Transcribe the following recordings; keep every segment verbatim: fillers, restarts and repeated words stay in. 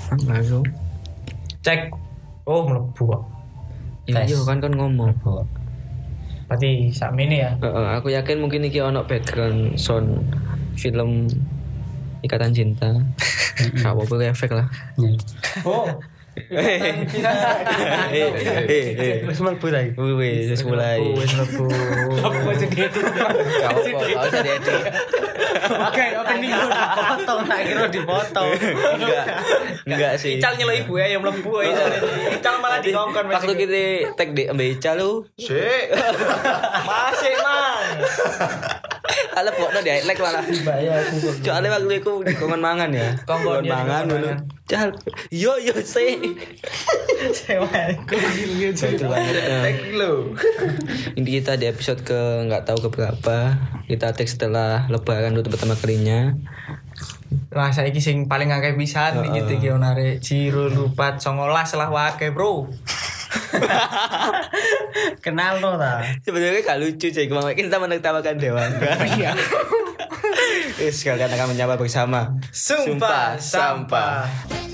Langsung cek. Oh, mlebu kok. iya kan kan ngomong. Berarti sakmene ya. Heeh, aku yakin mungkin iki ono background sound film Ikatan Cinta. Gak apa-apa efek lah. Oh. Eh, eh, eh. Wis mlebu ta iki. Wis wis mulai. Wis mlebu. Apa jadi itu? Gak apa-apa, gak usah diedit. Oke, oke nih dipotong, tak kira dipotong. Enggak. Enggak sih. Ical nyelok ibu ya yang mlebu ae. Ical malah dikongkon. Waktu kita tag di Mbak Ica lu. Sik. Masih, Mang. Ala pokoknya di highlight malah. Bayar aku. Soalnya waktu itu dikongkon mangan ya. Kongkon ya, mangan dikongkon dulu. mangan. Cal. Yo yo sih. Sewa. Itu banget. Thank you. Ini kita di episode ke nggak tahu keberapa. Kita tag setelah lebaran untuk pertama kalinya. Lah saiki sing paling akeh pisan iki iki onare Jiro Lupat songolas lah wake, Bro. Kenal lo ta. Sebenarnya gak lucu sih, kemarin kita menertawakan Dewan. Iya. Wis kalian akan menyapa bersama Sumpah Sampah.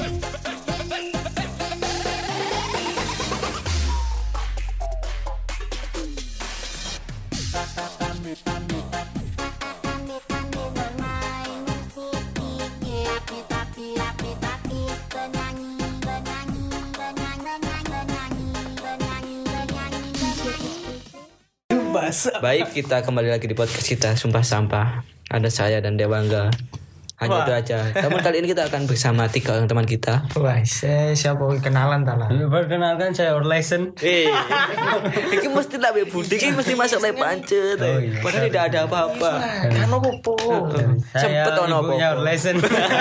Baik, kita kembali lagi di podcast kita Sumpah Sampah. Ada saya dan Dewangga. Hanya Wah. itu aja. Namun kali ini kita akan bersama tiga orang teman kita. Wah, saya siapa kenalan ta lah. Perkenalkan saya Orlesen. Eh, ini mesti tak budi, ini mesti masuk lek pancet. Oh, iya. Padahal tidak ada apa-apa. Kan opo? Saya Sempet ono ibunya apa-apa. Orlesen.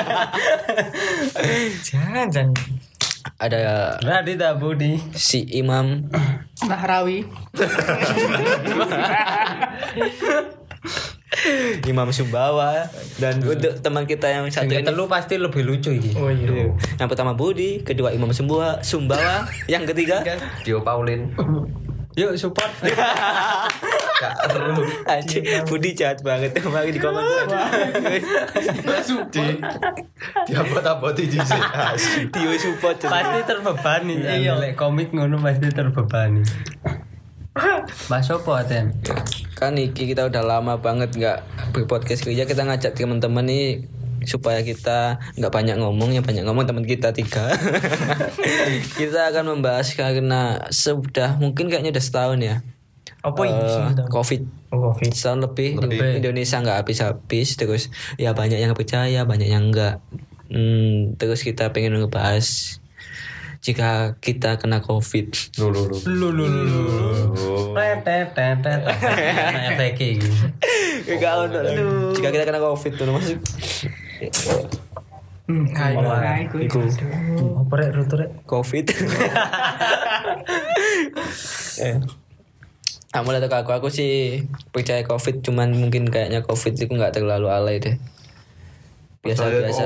Jangan, jangan. Ada Radita Budi. si Imam, Nahrawi. Imam Sumbawa, dan untuk teman kita yang satu Yang ini. telu pasti lebih lucu iki. Oh iya. Yang pertama Budi, kedua Imam Sumbawa, Sumbawa, yang ketiga Dio Paulin. Yuk support. Gak perlu. Anjing, Budi jahat banget. Mari di komen. Di dia apa-apa di sini. Dio support. Pasti terbebani. Iya, lek komik ngono pasti terbebani. Mas opo Aten? Kan iki kita udah lama banget nggak berpodcast kerja, kita ngajak teman-teman nih supaya kita nggak banyak ngomong, yang banyak ngomong teman kita tiga. Kita akan membahas karena sudah mungkin kayaknya udah setahun ya. Apa ini? eh, Covid. Oh, Covid. Setahun lebih, Lebih. Indonesia nggak habis-habis, terus ya banyak yang percaya, banyak yang enggak. Hmm, terus kita pengen ngebahas jika kita kena Covid. Lu lu lu. Lu lu lu lu. Tet tet tet. Nah, efek iki. Enggak ono. Jika kita kena Covid tuh masuk. Hai, hai, Iku Apa rek rutu rek? Covid. eh. Aku mulai tau aku, aku sih percaya Covid, cuman mungkin kayaknya Covid itu nggak terlalu alay deh. Biasa-biasa.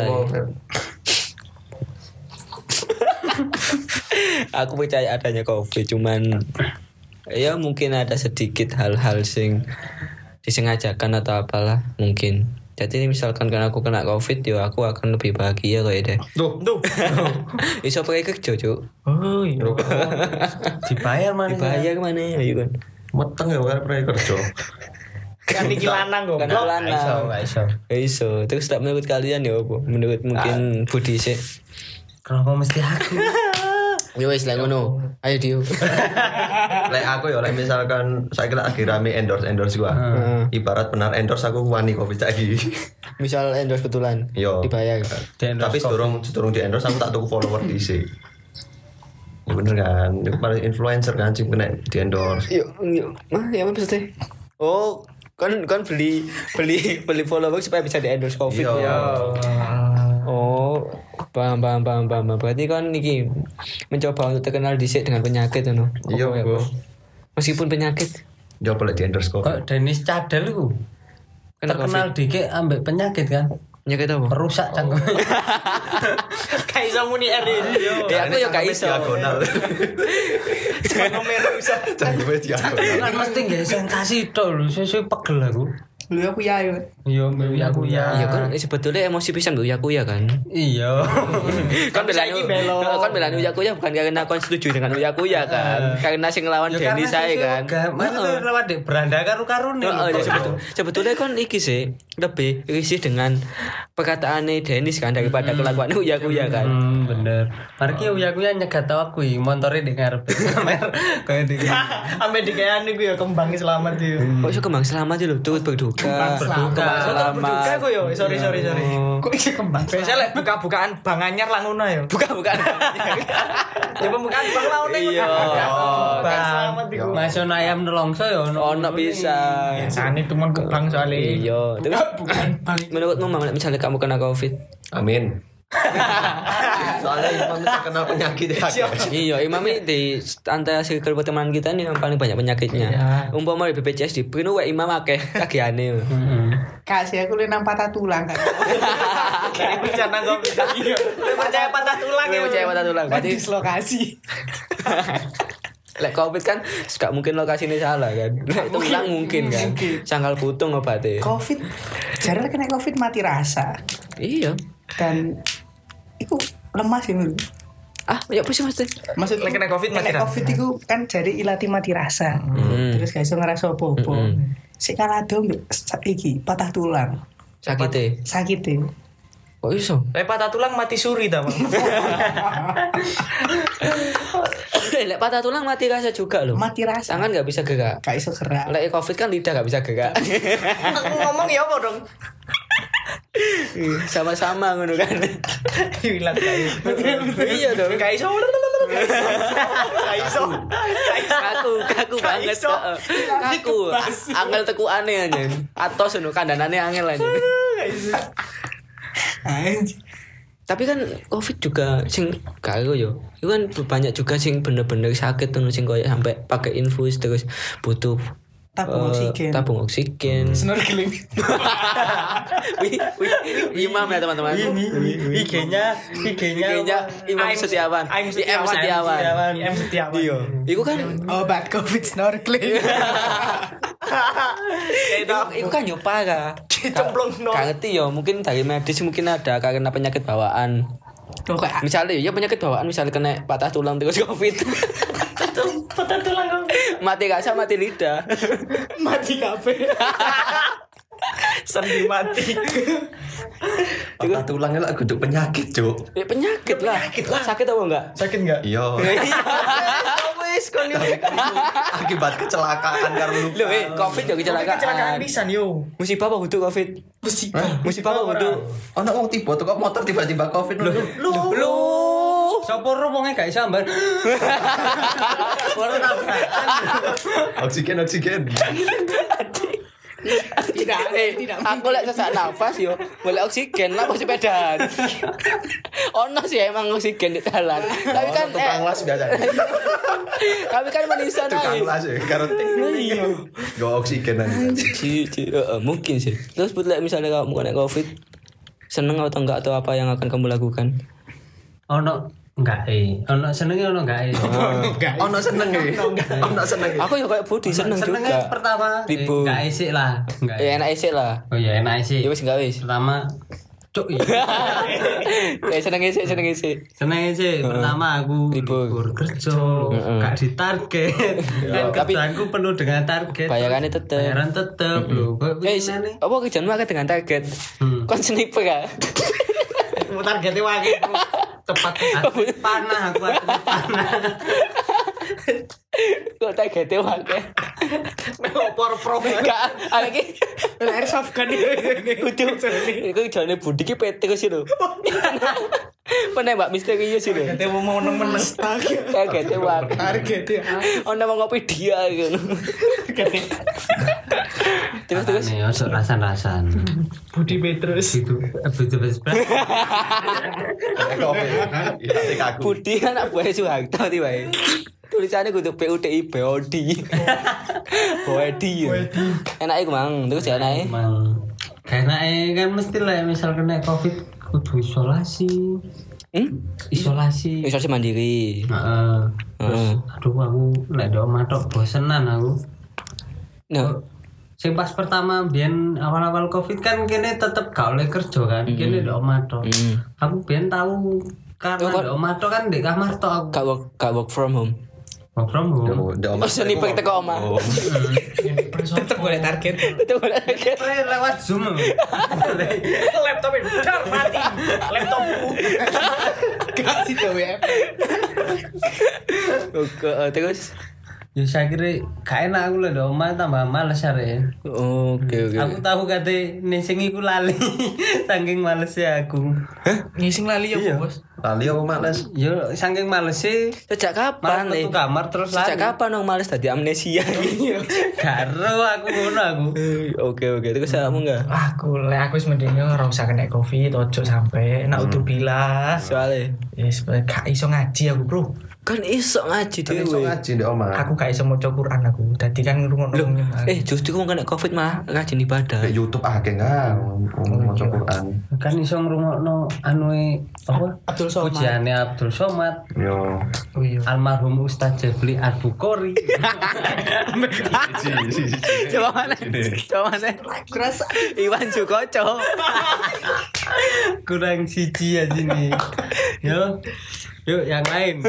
Aku percaya adanya Covid, cuman ya mungkin ada sedikit hal-hal sing disengajakan atau apalah mungkin. Jadi misalkan kan aku kena Covid, ya aku akan lebih bahagia kayak deh. Tuh, tuh. Iso pakai kerja, Cuk. Oh iya. Dibayar mana? Dibayar mana ya, kan? Meteng ya kan pernah kerja. Kan iki lanang kok. Kan lanang. Enggak iso. Ya iso. Terus tak menurut kalian ya apa? Menurut mungkin Budi sih. Kenapa mesti aku? Ya wis lah ngono. Ayo Dio. Lek aku ya lek misalkan saya kira lagi rame endorse endorse gua. Ibarat benar endorse aku wani Covid lagi. Misal endorse betulan. Yo. Dibayar. Tapi sedurung sedurung di endorse aku tak tuku follower dhisik. Ya bener kan, itu paling influencer kan sing kena di endorse. Yuk, yuk. Mah, ya apa maksudnya? Oh, kan kan beli beli beli follower supaya bisa di endorse Covid. Iya. Ya. Oh, paham paham paham paham. Berarti kan niki mencoba untuk terkenal dhisik dengan penyakit ngono. Iya, Apa ya, Bos. Bos? Meskipun penyakit. Ya boleh di endorse Covid. Kok Denis Cadel ku? Kena Terkenal dikit ambek penyakit kan? Penyakit apa? Rusak cangkem. Kayak iso muni R ini. Ya aku ya gak iso. Diagonal. Cuma rusak. Cangkeme diagonal. Kan mesti nggak sensasi tok lho, sesuai pegel aku. Uya kuya yo. Yo ya aku ya. Iya kan sebetulnya emosi pisan Uya Kuya kan. Iya. Kan belani kan belani Uya Kuya bukan karena aku setuju dengan Uya Kuya kan. Karena sing ngelawan Denny saya kan. Mana tuh lawan Dek Beranda karo-karone. Heeh, ya sebetulnya sebetulnya kan iki sih lebih risih dengan perkataane Dennis kan daripada kelakuan Uya Kuya kan. Hmm, bener. Mari Uya Kuya nyegat tau aku montore di ngarep. Kayak iki. Ame dikayane ku ya kembang selamat yo. Kok iso kembang selamat sih lho, turut berduka. Berduka. Selamat. Berduka ku yo. Sorry sorry sorry. Kok iso kembang? Biasa lek buka-bukaan bang anyar lah ngono yo. Buka-bukaan. Ya pembukaan bang lah ngono. Iya. Bang selamat iku. Mason ayam nelongso ya ono. Ono bisa. Biasane temen kebang soalnya. Iya. Terus menurutmu Mam, misalnya kamu kena Covid? Amin. Soalnya Imam terkenal penyakit ya. Iya, Imam ini di antara circle pertemanan kita ini yang paling banyak penyakitnya. Umpama di B P J S di Brino wae Imam akeh kagiane. Heeh. Kasih aku lenang patah tulang kan. Kayak bencana Covid. Iya. Percaya patah tulang ya. Percaya patah tulang. Berarti Dislokasi. lek Covid kan gak mungkin lokasinya salah kan. Lek tulang mungkin kan. Sangkal putung obatnya. Covid. Jarang kena Covid mati rasa. Iya. Dan iku lemah sih menurut. Ah, ya apa sih Mas? Maksud Lek kena Covid mati kena rasa. Covid iku kan jadi ilati mati rasa. Hmm. Terus gak iso ngerasa apa-apa. Hmm. Sik kalado mbek iki patah tulang. Sakite. Sakite. Kok iso? Lek patah tulang mati suri ta, Bang. Lek patah tulang mati rasa juga loh. Mati rasa. Tangan gak bisa gerak. Gak iso gerak. Lek Covid kan lidah gak bisa gerak. Ngomong ya apa dong? Sama-sama ngono kan. Hilang kayu. Iya dong. Gak iso. Gak iso. Kaku, kaku banget. iso. Heeh. Kaku. Angel tekukane aja. Atos ngono kandanane angel aja. Anjir. Tapi kan Covid juga sing karo yo. Itu kan banyak juga sing bener-bener sakit tuh sing koyo sampai pakai infus terus butuh Tabung eh, oksigen. Tabung oksigen. Snorkeling. Wih, wih, Imam ya teman-teman. I G-nya I G-nya I G-nya Imam Aim- Setiawan. Aim I M Setiawan. M Setiawan. Iya. Iku kan Obat Covid snorkeling. Iku, iku kan yo parah. Dicemplung no. Gak ngerti yo, mungkin dari medis mungkin ada karena penyakit bawaan. Tuh kayak Misalnya ya penyakit bawaan misalnya kena patah tulang terus Covid. Patah tulang kok. Mati rasa mati lidah. mati kabeh. Sendi mati. Patah tulangnya lah kudu penyakit, Cuk. Ya, penyakit lah. Sakit apa enggak? Sakit enggak? Iya. Wis kon yo. Akibat kecelakaan karena lupa. Loh, eh, Covid yo Kecelakaan kecelakaan. pisan yo. Musibah apa kudu Covid? Musibah. Musibah apa kudu? Ono wong tiba tuh kok motor tiba-tiba Covid lho. Lu. Sopo ro wonge gak iso ambar. Ora Oksigen oksigen. Tidak, Eh, tidak. aku lek sesak nafas yo, boleh oksigen lah pas sepedaan. Ono sih emang oksigen di jalan. Tapi kan Ono tukang eh, las biasa. kami kan manusia Tukang naik. las ya karo Iya. go oksigen aja. Ci- ci- eh, eh, mungkin sih. Terus buat misalnya kamu kena Covid, seneng atau enggak atau apa yang akan kamu lakukan? ono enggak eh. Ono senenge ono enggak eh. Ono seneng ya. Ono seneng ya. Aku ya kayak Budi seneng Senenge juga. pertama Ribu. enggak isik lah. Enggak. Ya enak isik lah. Oh iya enak isik. Ya wis enggak wis. Pertama cuk iya. Ya seneng isik, seneng isik. Seneng sih pertama aku Libur. libur kerja, Heeh. gak ditarget. Kan tapi- kerjaanku penuh dengan target. Bayarannya tetep. Bayaran tetep lho. Kok Eh, gimana nih? apa kerjaanmu akeh dengan target? Hmm. Kon sniper ya? Targetnya wae tepat. Atlet panah aku atlet panah. Kok targetnya wae? Opor prof. Enggak, ada ki Airsoft kan ini. kudu. Iku jane Budi ki P T sih lho. Penembak misterius sih lho. Targetnya mau meneng-meneng. Targetnya wae. Target ya. Ono mau ngopi dia gitu. Terus terus Nih, osok rasan-rasan. Budi Petrus. Itu betul-betul. Covid. Iya, kaku. Budi anak buah Soeharto tiba. Tulisannya kudu P U D I B O D. Bodi. Enak iku mang, terus ya enak. Emang karena eh, kan mesti lah misal kena covid kudu isolasi. Hmm? Isolasi. Isolasi mandiri. Heeh. Terus Heeh. aduh aku nek do matok bosenan aku. Nah, Sing pas pertama biyen awal-awal Covid kan kene tetep gak oleh kerja kan. Kene ndek omah tok. Mm. Aku biyen tahu karena Oh, kan- ndek omah tok kan ndek kamar tok aku. Gak work, gak work from home. Work from home. Ndek Oh, seni pek teko omah. Tetep boleh target. Itu boleh kaget. Eh, lewat Zoom. Laptopnya dar mati. Laptopku. Gak sih W F. Oke, eh, terus Ya saya kira gak enak aku lah di omah tambah males ya. oke oke. Aku tahu kate ning iku lali. Saking malesnya aku. Ngising lali ya, Bos. Lali apa males? Yo saking malesnya Sejak malah kapan nih? metu kamar terus Sejak lali. kapan dong males tadi amnesia? Karo aku ngono aku. Oke oke, terus kamu enggak? Aku lek aku wis mending ora usah kena Covid, ojo sampe nak udzubillah. Soalnya Yes, gak iso ngaji aku, Bro. kan iso ngaji Kan iso dhewe. ngaji ndek omah. Aku gak iso maca Quran aku. Dadi kan ngrungokno wong nyembah. Eh justru kamu kena covid malah rajin ibadah. Kayak YouTube akeh kan ngomong maca Quran. Kan iso ngrungokno anu apa? Abdul Somad. Pujiane Abdul Somad. Yo. Oh iya. Almarhum Ustaz Jebli Al-Bukhari. Coba mana? Coba mana? Kerasa. Iwan Sukoco. Kurang siji aja nih. Yo. Yuk yang lain.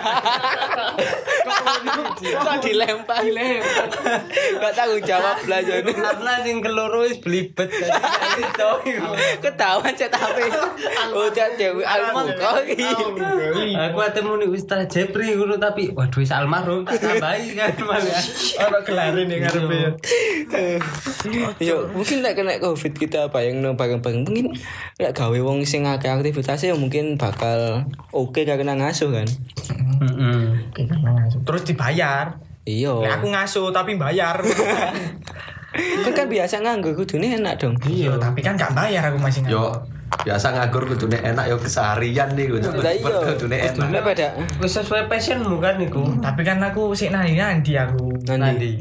Kok dilempar? Dilempar. Gak tanggung jawab belajar. Karena sing keloro wis belibet tadi Ketahuan cek tapi. Udah Dewi Al-Bukhari. Aku ketemu nih Ustaz Jepri ngono tapi waduh wis almarhum tak tambahi kan malah. Ono gelare ning ngarepe ya. Yo, mungkin lek kena covid kita bayang no bareng-bareng mungkin lek gawe wong sing akeh aktivitasnya mungkin bakal oke karena ngasuh kan. Heeh. Oke, kan ngasuh. Terus dibayar. Iya. Lek aku ngasuh tapi bayar. Kan kan biasa nganggur kudune enak dong. Iya, tapi kan gak bayar aku masih nganggur. Yo biasa nganggur kudune enak yo keseharian nih kudu. Lah iya. Kudune enak. Kudune pada Wis sesuai passionmu kan iku. Tapi kan aku sik nandi-nandi aku. nanti.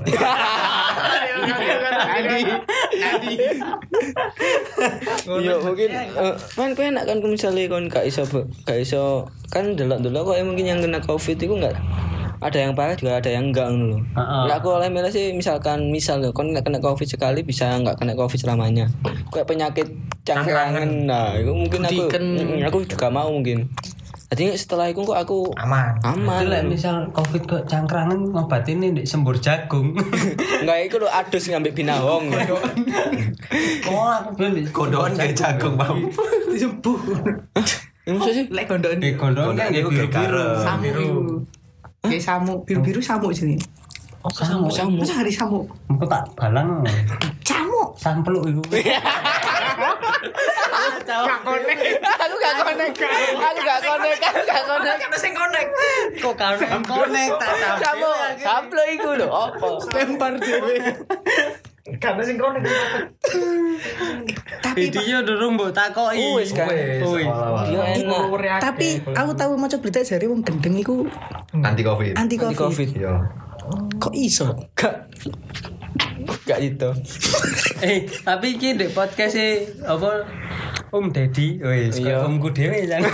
Nandi. Nandi. Iya mungkin eh, kan kowe enak kan misalnya kon gak iso gak iso kan delok-delok kok mungkin yang kena covid itu enggak ada yang parah juga ada yang enggak ngono lho. Heeh. Lah aku oleh milih sih misalkan misal lho kon kena covid sekali bisa enggak kena covid selamanya. Kayak penyakit cangkrangan. Nah, itu mungkin aku mm, aku juga mau mungkin. Jadi setelah itu kok aku Aman. aman. Itu lek misal Covid kok cangkrangan ngobatine ndek sembur jagung. Enggak iku lho adus ngambil binawong. Oh, aku belum di Kondoan kayak jagung mau. Disembuh. Ya maksud sih? Lek gondok di kondong kan Kondoan nggih iku kayak biru-biru. garam. Samu biru. Kayak samu, biru-biru samu sini. Oh, samu samu. Masa hari samu? Engko tak balang. Samu. Sampluk iku. Gak konek. Aku gak konek. Aku gak konek. Aku gak konek. Kan sing konek. Kok karo konek tak Kamu samplo iku lho opo? Lempar dhewe. Karena sing konek. Tapi Video durung mbok takoki. Wis kan. Wis. Yo enak. tapi aku tahu maca berita jare wong gendeng iku Anti Covid. anti Anti covid. covid. Yo. Kok iso? Gak gak itu. Eh, tapi iki ndek podcast e apa Om Deddy, wis Iya. kok omku dhewe jan.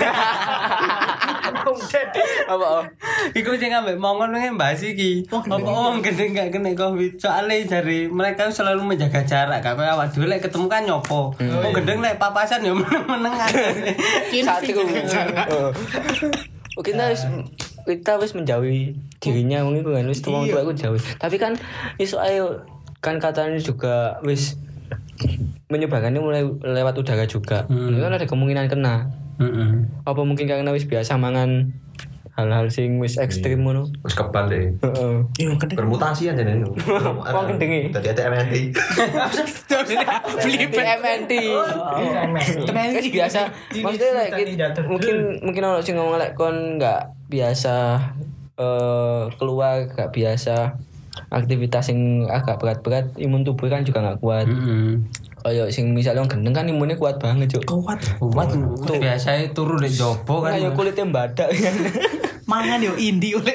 Apa? oh? Iku sing ambek mongon ngene bahas iki. Apa wong gendeng gak kena Covid? Soale jare mereka selalu menjaga jarak, gak kaya awak dhewe lek ketemu kan nyopo. Wong gendeng lek papasan ya meneng-menengan. Satu. Oh. Oh, kita wis kita wis menjauhi dirinya mungkin kan wis tuang tua aku jauh. Tapi kan iso ayo kan katanya juga wis menyebarkannya mulai lewat udara juga. Hmm. Kan ada kemungkinan kena. Heeh. Apa mungkin karena wis biasa mangan hal-hal sing wis ekstrim ngono. Wis kebal deh. Heeh. Yo gendeng. Bermutasi aja nih. Wong gendenge. Tadi ada M N T. Beli P M N T. Kan biasa. Maksudnya like, it- mungkin mungkin orang sing ngomong lek kon nggak biasa eh keluar nggak biasa aktivitas yang agak berat-berat imun tubuh kan juga nggak kuat. Heeh. Kayak sing misalnya orang gendeng kan imunnya kuat banget cuk. Kuat. Kuat tuh biasanya turu di jopo kan. Kayak kulitnya badak kan. Mangan yo indi oleh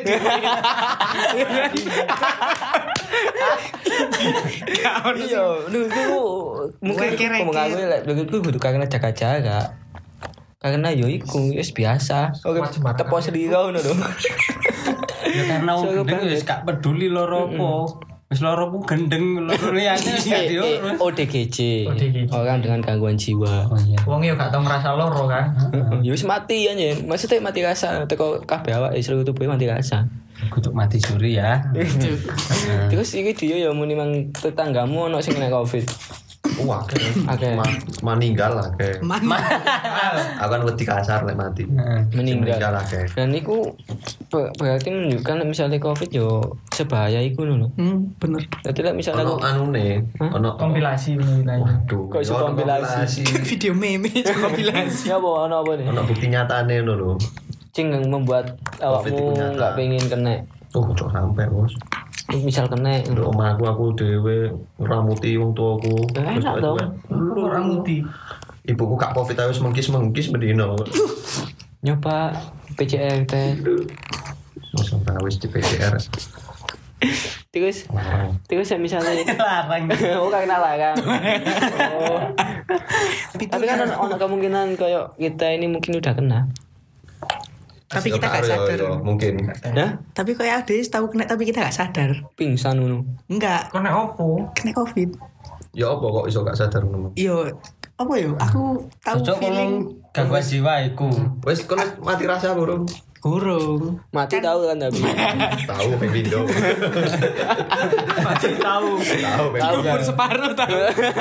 Iya, lu itu mungkin Weke-reke. ngomong aku lek begitu kudu karena jaga jarak. Karena yo iku wis biasa. Oke, tepo selira ngono lho. Ya karena wong Soalnya gendeng banget. wis gak peduli loro apa. Wis loro ku gendeng, loro liyane wis gak Eh, eh, diurus. O D G J. O D G J. Orang dengan gangguan jiwa. Oh iya. Wong yo gak tau ngerasa loro kan. Ya wis mati ya nyen. Maksudnya mati rasa teko kabeh awak seluruh tubuh mati rasa. Kutuk mati suri ya. Terus iki dia ya muni mang tetanggamu ono sing kena Covid. Wah, Oke. ma- meninggal lah kayak. Mana? Aku kan wedi kasar lek mati. Meninggal. Meninggal lah kayak. Dan itu ber- berarti menunjukkan misalnya Covid yo sebahaya iku lho. Hmm, bener. Jadi lah misalnya Ono aku anune, ono Kompilasi menilai. Waduh, Kok iso ono kompilasi? Video meme kompilasi. ya apa ono apa nih? Ono bukti nyatane ngono lho. Cing yang membuat Covid itu awakmu nyata. nggak pengen kena. Oh, kok sampai, Bos. Misal kena. Nduk omahku aku dhewe ngeramuti wong tuaku. Ya, enak dong. Orang mudi. Ibuku gak Covid ae wis mengkis-mengkis bendino. Nyoba P C R teh. Masa wis di P C R. Terus Larang. terus ya misalnya Larang. oh karena larang. Oh. Tapi kan ono ono kemungkinan kayak kita ini mungkin udah kena. Tapi Ya, kita gak karo ya, sadar. ya, mungkin. Dah Tapi kayak ada tahu kena tapi kita gak sadar. pingsan ngono. Enggak, Kone opo? kena Covid. Ya apa kok iso gak sadar ngono. Iyo, apa yo? Aku tahu Cocok feeling ngomong gangguan jiwa iku. Wis kon mati rasa burung. kurung. Mati tahu kan tapi. Tahu ping pindho. Mati tahu. Tahu ping Tahu pindho. kan. Separuh tahu.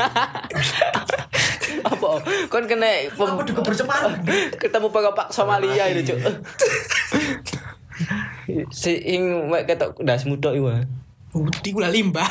Apa? Kon kena pem- ketemu Pak Somalia itu, Cuk. Si ing mek ketok ndasmu tok iku. Bukti gula limbah.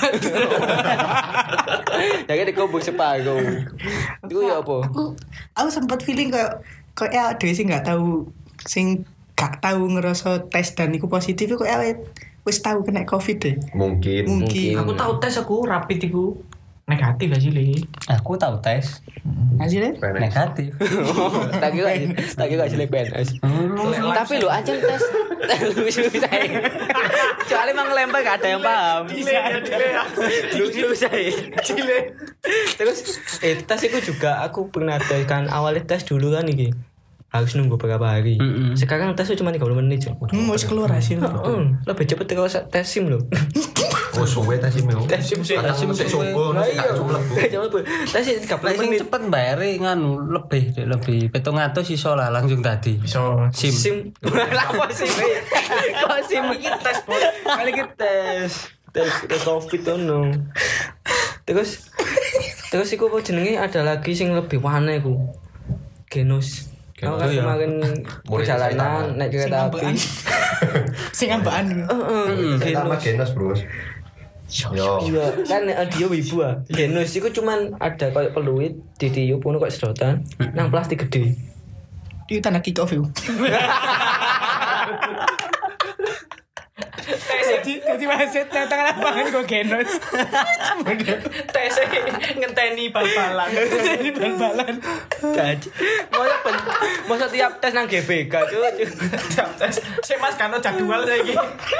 Ya kan dikubur separuh. Iku ya apa? Aku, aku sempat feeling kayak kayak ada sih nggak tahu sing gak tahu ngerasa tes dan iku positif kok awet wis tahu kena Covid deh. Mungkin. Mungkin. Aku tahu tes aku rapid iku negatif aja li. Aku tahu tes Hasilnya? Penek. negatif. Tak kira tak kira jelek P N S. Tapi lo aja tes lucu saya. Soalnya emang lempar gak ada yang paham. Lucu saya. Terus eh tes itu juga aku pernah tes kan awalnya tes dulu kan iki. Harus nunggu beberapa hari. Mm-mm. Sekarang tesnya cuma tiga puluh menit. Cuk. Hmm, wis keluar hasil. Heeh, lebih cepet kalau tes SIM loh. Oh, suwe ta sih mau. Tes SIM sih, Tes SIM sik suwe, Lah sik iya. gak mlebu. Cuma tes tiga puluh Lek sing menit. cepet bayare nganu lebih Dek, lebih pitung atus iso lah langsung tadi. So SIM. SIM. Lah kok SIM? Kok SIM iki tes bos. Kali iki tes. Tes tes Covid tuh no. Terus terus iku apa jenenge ada lagi sing lebih wane iku. Genos. Aku kan ya. kemarin Murid perjalanan saya naik kereta api. Sing ambaan. Heeh. Kita sama Genos, Bro. Yo. Iya, kan eh, dia wibu ah. Genos iku cuman ada kayak peluit di tiup ngono kok sedotan nang plastik gede. Itu tanda kick off yuk. Jadi jadi wasit datang lapangan kok genos. tes ngenteni bal-balan. Jadi bal-balan. Gaji. Masa pen, masa tiap tes nang G B K cuy. Tiap tes sik Mas kan jadwal saiki.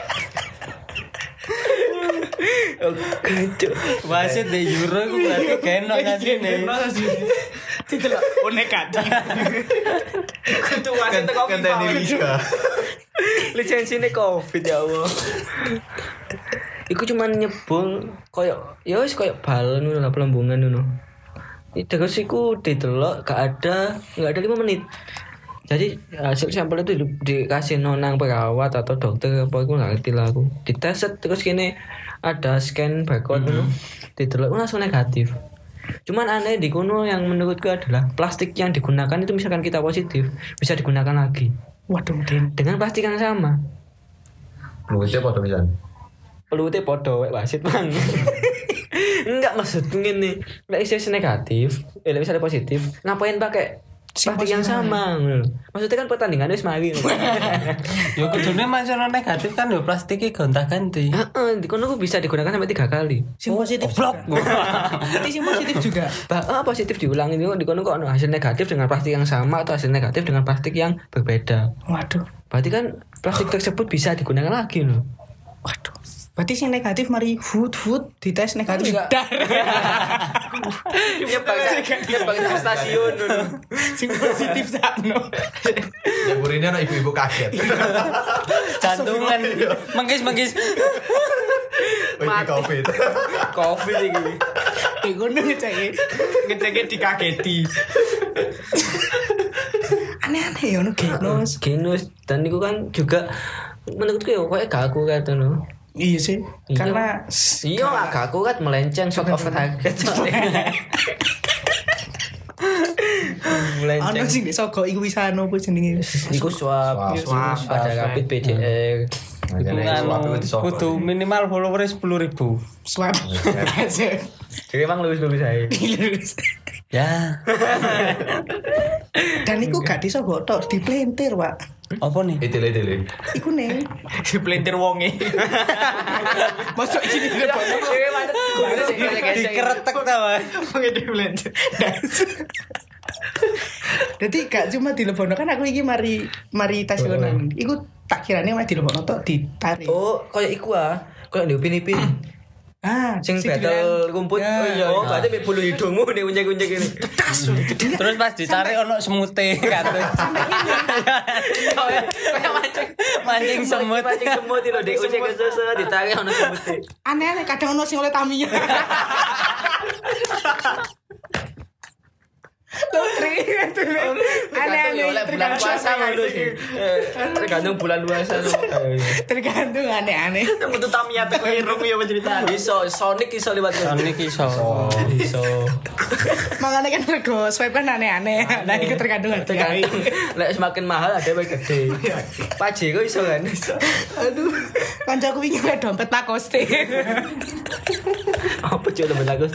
Oke, cuy. Wasit di Euro iku berarti kena kasine. Tidak oh negatif. Kudu wasit teko FIFA. Lisensi ini Covid ya Allah. Iku cuman nyebung koyo ya wis koyo balon ngono lah pelembungan ngono. Terus iku didelok gak ada gak ada lima menit. Jadi hasil sampel itu di- dikasih nonang perawat atau dokter apa aku gak ngerti lah aku. Dites terus gini ada scan barcode ngono. Didelok langsung negatif. Cuman aneh di kono yang menurutku adalah plastik yang digunakan itu misalkan kita positif bisa digunakan lagi Waduh, Den. dengan plastik yang sama. Luwite padha pisan. Pelute podo wek wasit bang. Enggak maksud ngene. Lek isih negatif, eh lek misalnya positif, ngapain pakai plastik yang sama? Maksudnya kan pertandingan wis mari. Yo kudune masalah negatif kan yo plastiknya gonta-ganti. Heeh, di kono ku bisa digunakan sampai tiga kali. Sing positif juga. Berarti sing positif juga. Bah, ah, positif diulangi di kono kok ono hasil negatif dengan plastik yang sama atau hasil negatif dengan plastik yang berbeda. Waduh. Berarti kan plastik tersebut bisa digunakan lagi loh. Waduh. Berarti sing negatif mari food food dites negatif. Enggak. Dar. Nyebak nyebak di stasiun dulu. Sing positif sakno. Ya burine ana ibu-ibu kaget. Jantungan. Menggis-menggis. Wih, Covid. Covid iki. Eh ngono ngeceke. Ngeceknya dikageti. Aneh-aneh ya ono genus. Genus dan itu kan juga menurutku ya kayak gak aku kan tuh. Iya sih. Iya. Karena Iya gak aku kan melenceng shot of target. ono Melenceng. sing di Sogo iku bisa ono apa jenenge. Iku swab, Swab, swab, ada rapid P C R. Iku anu kudu minimal followers sepuluh ribu. Swab. Jadi emang lulus-lulus saya. Ya. Dan iku gak di Sogo tok, di Plentir, Pak. Apa nih? Itile itile. Iku neng. Dipelintir wonge. Masuk sini di depan. Dikeretek ta, Mas. Wonge dipelintir. Jadi gak cuma dilebono kan aku iki mari mari tasionan. Iku tak kirane mah dilebono tok ditarik. Oh, kayak iku ah. Kayak di Upin-Ipin. Ah, Sing sing battle dibilang- rumput. Ya. Oh iya, oh berarti mek bulu hidungmu nek unjek-unjek ini. Terus pas ditarik ono semute katut. Kayak mancing Mancing semut. Mancing semut itu dek unjek susu ditarik ono semut. Aneh-aneh kadang ono sing oleh Tamiya. Lotri itu aneh-aneh Oleh bulan puasa ngono sih. Tergantung bulan puasa. tergantung aneh-aneh. Metu Tamiya teko irung ya cerita. Iso Sonic iso lewat Sonic iso. iso. Makanya kan rego swipe kan aneh-aneh. Nah itu tergantung hati. Tergantung. Lek semakin mahal ada yang gede. Pajero iso kan. Aduh, kancaku wingi oleh dompet Lacoste. Apa coba temen aku?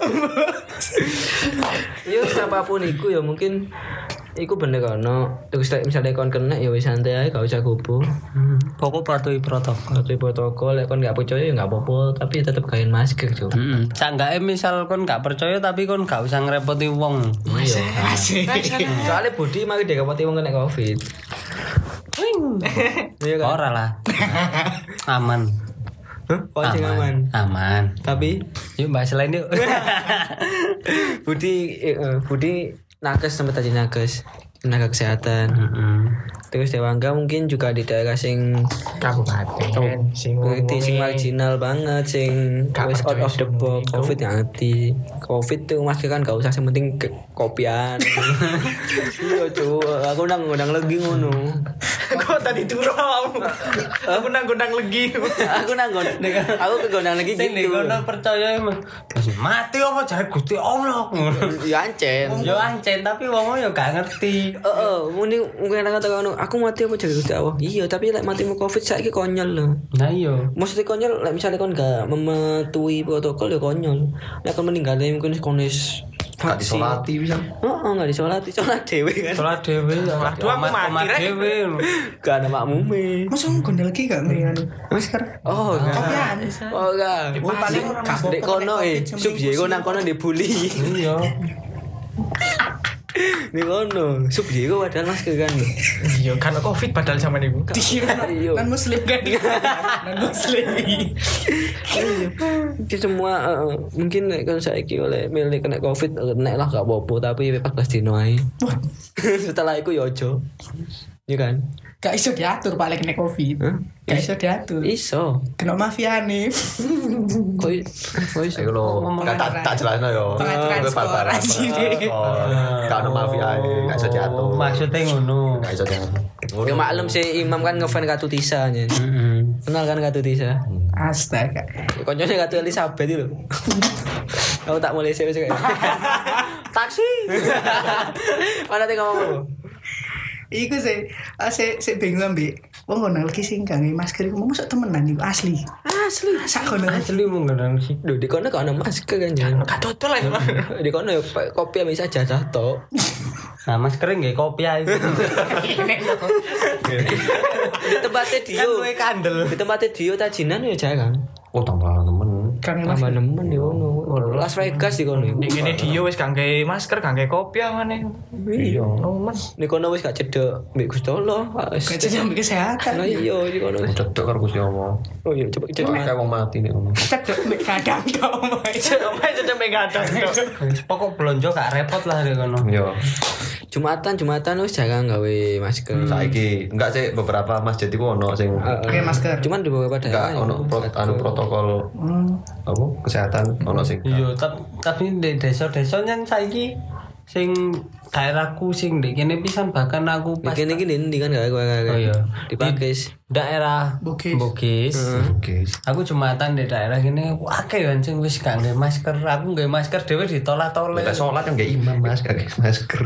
Yo siapapun iku ya mungkin iku bener kono. Terus lek misalnya kon kena ya wis santai ae gak usah kubu. Pokok patuhi protokol. Patuhi protokol lek kon gak percaya ya gak apa-apa tapi tetep gawe masker jo. Heeh. Sanggake misal kon gak percaya tapi kon gak usah ngerepoti wong. Iya. Asik. Soalnya Budi mari dikapati wong kena Covid. Iya kan? Ora lah. Aman. Hah? Oh, sing aman. Aman. Tapi Yuk bahas lain yuk. Budi eh, eh, Budi nakes sampai tadi nakes tenaga kesehatan. Heeh. Terus Dewangga mungkin juga di daerah sing Kabupaten sing ngerti sing ngomongnya- marginal banget sing Gak wis out percaya of the sing box itu. Covid yang hati. Covid tuh masker kan gak usah yang penting ke- kopian. Iya cu, aku nang ngundang lagi ngono. Kok tadi turu kamu? Aku nang gondang legi. Aku nang nggon- aku ke gondang lagi Sing gitu. kono percaya emang mati apa jare Gusti Allah. Ya ancen. Yo ancen tapi wong yo gak ngerti. Heeh, muni mungkin kata ngono, aku mati apa jadi Gusti Allah. Iya, tapi lek matimu Covid saiki konyol lho. Nah iya. Maksudnya konyol, lek misalnya kon gak mematuhi protokol ya konyol. Lek kon meninggalnya mungkin konis Gak disolati bisa. Oh, gak disolati, sholat dewe kan. Salah dhewe. Waduh, aku mati, Rek. dhewe. Gak ada makmume. Masa gondel lagi gak ngene anu? Masker. Oh, enggak. Kopian. Oh, enggak. Oh, paling gak apa-apa Dek kono eh, Covid sub Diego nang kono dibully. Iya. Di kono, sub Diego padahal masker kan. Iya, karena Covid padahal zaman ibu. Dikira Iya. non muslim kan. Non muslim. Itu semua eh, eh, mungkin nek kon saiki oleh milih kena Covid eh, nek lah gak apa-apa tapi empat belas dino ae. Setelah itu ya ojo. Iya kan? Gak iso diatur Pak lek nek Covid. Hah? Gak iso diatur. Iso. Kena mafia nih. Kok i- kok iso? Ayo lo, Ngomong tak tak jelasno yo. Pengaturan Kowe skor barbar. aja deh. Gak ono mafia ae, gak iso diatur. Maksudnya ngono. Gak iso diatur. Ya maklum sih Imam kan ngefan Katu Tisa nya. Heeh. Kenal kan Katu Tisa? Astaga. Konyolnya Katu Elizabeth itu loh. Aku tak mulai sih kayak taksi. Mana tengok ngomong? Iku sih, ah, saya saya bingung ambek. Wong ngono lagi sing gak nge masker iku mau masuk temenan iku asli. Asli. Sak ngono. Asli mung ngendang sih. Duh, di kono gak ada masker kan jangan. Gak total lah. Di kono ya pakai kopi bisa jajah tok. Nah, masker nggih kopi ae. Di tempatnya Dio. Kan kowe kandel. Di tempatnya Dio tajinan ya jarang. Oh, tambah temen. Kan Tambah masker. nemen di kono. Las Vegas di kono. Ning ngene dia wis gak nggae masker, gak nggae kopi ngene. Iya. Nomen. Di kono wis gak cedek mbek Gusti Allah. Gak jadi ambil kesehatan. Nah iya di kono. Cedek karo Gusti Allah. Oh iya coba cedek. Kayak wong mati nih ngono. Cedek mbek kadang tok omae. Omah sudah megadang. Pokok blonjo gak repot lah di kono. Yo. Jumatan Jumatan wis jarang gawe masker. Saiki enggak sih beberapa masjid iku ono sing Pakai masker. Cuman di beberapa enggak daerah ono pro, anu protokol apa kesehatan ono sing Iya, tap- tapi di desa-desa nyen saiki sing daerahku sing ndek kene pisan bahkan aku pas Bikin iki ndi kan gak Oh iya. di Pakis. daerah Bugis. Bugis. Oke. Aku jumatan di daerah gini akeh kan sing wis gak nggawe masker. Aku nggawe masker dhewe ditolak-tolak. Kita sholat kan gak imam mas, gak masker.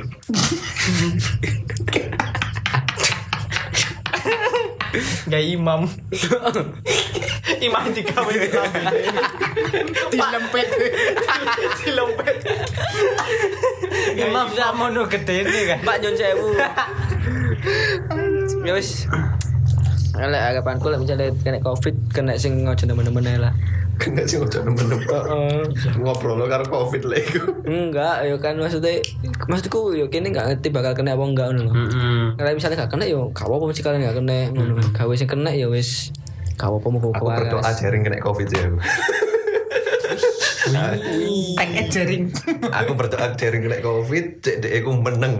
Gak imam. Imam digawe dilempet. Dilempet. Imam sakmono gedene kan. Mbak Nyon sewu. Ya wis. Lek harapanku lek misalnya kena Covid, kena sing ngojo nemen-nemen ae lah. Kena sih udah nemen-nemen. Ngobrol lo karo covid lah iku. Enggak, ya kan maksudnya maksudku yo kene enggak ngerti bakal kena apa enggak ngono lho. Heeh. Kalau misalnya gak kena yo gak apa-apa mesti kalian gak kena ngono. Gawe sing kena ya wis gak apa-apa mau Aku berdoa jaring kena covid ya. Tag et jaring. Aku berdoa jaring kena covid, cek dek aku meneng.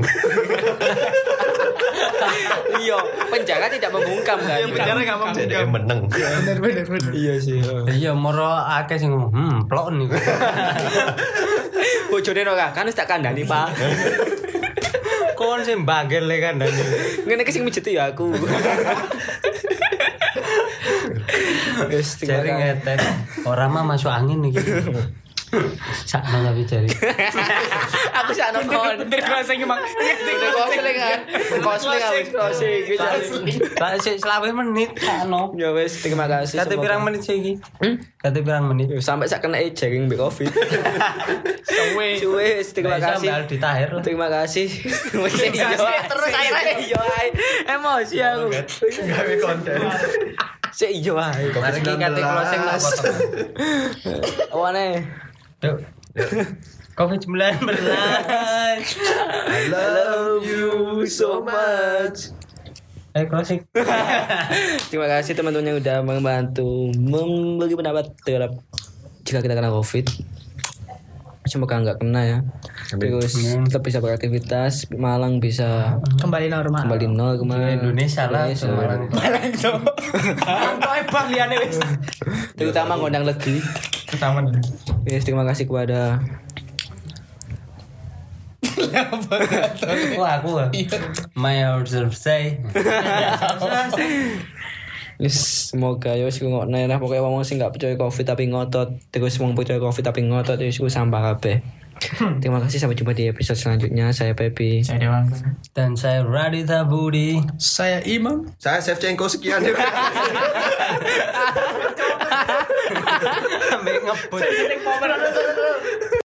Iya, penjara tidak membungkam kan. Penjara gak mau Cek dek meneng. Bener bener bener. Iya sih. Iya moro akeh sing ngomong, hmm plok niku. Bojone ora kan wis tak kandhani, Pak. Kon sing bagel le kan dan. Ngene iki sing mijeti ya aku. Wis Jaring ngetes. Ora mah masuk angin iki. Sakno tapi jari. Aku sak nonton. Bener closing emang. Udah closing kan. Closing habis closing gitu. Tak sik selawe menit sakno. Ya wis, terima kasih. Kate semoga- pirang menit sih iki? Kate pirang menit? Yo, sampai sak kena jaring be Covid. Suwe. Suwe, wis, terima Nggak bisa kasih. mbak ditahir lah. Terima kasih. Wis iya. terus akhirnya. Iya ae. Emosi aku. Gawe konten. Sik iya ae. Mari iki kate closing tak potong. Awane. Yuk. covid sembilan belas. I love you so much. Eh closing. Terima kasih teman-teman yang udah membantu membagi pendapat terhadap jika kita kena Covid. Semoga nggak kena ya. Terus tetap bisa beraktivitas, Malang bisa Kembali normal. kembali nol kemarin. Indonesia lah. Indonesia. Malang tuh. Antoe bang liane wis. Terutama ngundang lagi. Pertama nih. Yes, terima kasih kepada Wah aku. My observe say. Yes, semoga ya wis ngono lah pokoknya wong sing gak percaya Covid tapi ngotot, terus wong percaya Covid tapi ngotot wis ku sampah kabeh. Terima kasih, sampai jumpa di episode selanjutnya. Saya Pepi. Saya Dewangga. Dan saya Raditha Budi. Saya Imam. Saya Shevchenko sekian. Sampai ngebut.